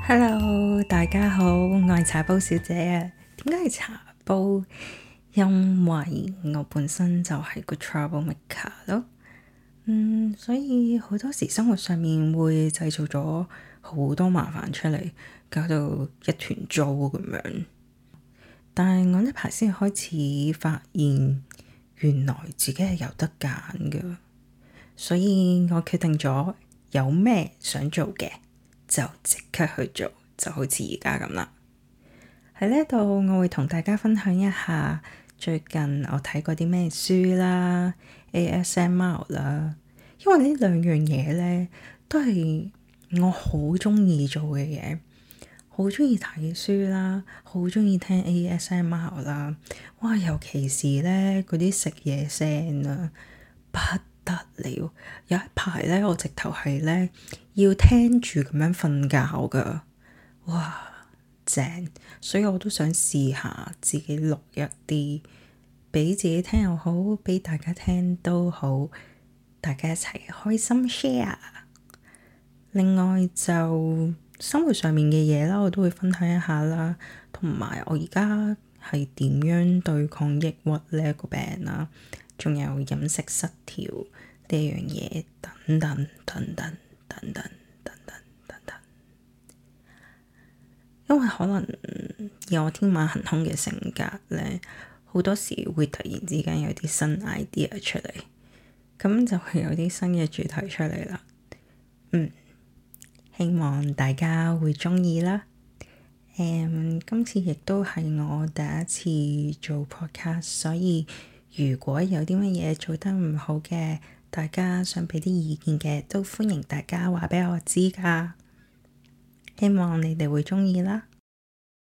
Hello，大家好，我係茶煲小姐啊。點解係茶煲？因為我本身就係個 troublemaker 咯。所以好多時生活上面會製造咗好多麻煩出嚟，搞到一團糟咁樣。但係我呢排先開始發現，原來自己係有得揀㗎，所以我決定咗有咩想做嘅就即刻去做，就好似而家咁啦。喺呢度我會同大家分享一下最近我睇過啲咩書啦、ASMR 啦，因為呢兩樣嘢咧都係我好鍾意做嘅嘢。好鍾意睇書啦，好鍾意聽 ASMR 啦，哇！尤其是咧嗰啲食嘢聲啊，不得了。有一排咧，我直頭係咧要聽住咁樣瞓覺㗎，哇！正，所以我都想試下自己錄一啲，俾自己聽又好，俾大家聽都好，大家一齊開心 share。另外就生活上面嘅嘢啦，我都會分享一下啦，同埋我而家係點樣對抗抑鬱呢一個病啦，仲有飲食失調呢樣嘢等等等等等等等等等等。因為可能以我天馬行空嘅性格咧，好多時會突然之間有啲新 idea 出嚟，咁就會有啲新嘅主題出嚟啦。希望大家會鍾意啦。今次亦都係我第一次做 podcast，所以如果有啲乜嘢做得唔好嘅，大家想畀啲意見嘅，都歡迎大家話畀我知㗎。希望你哋會鍾意啦。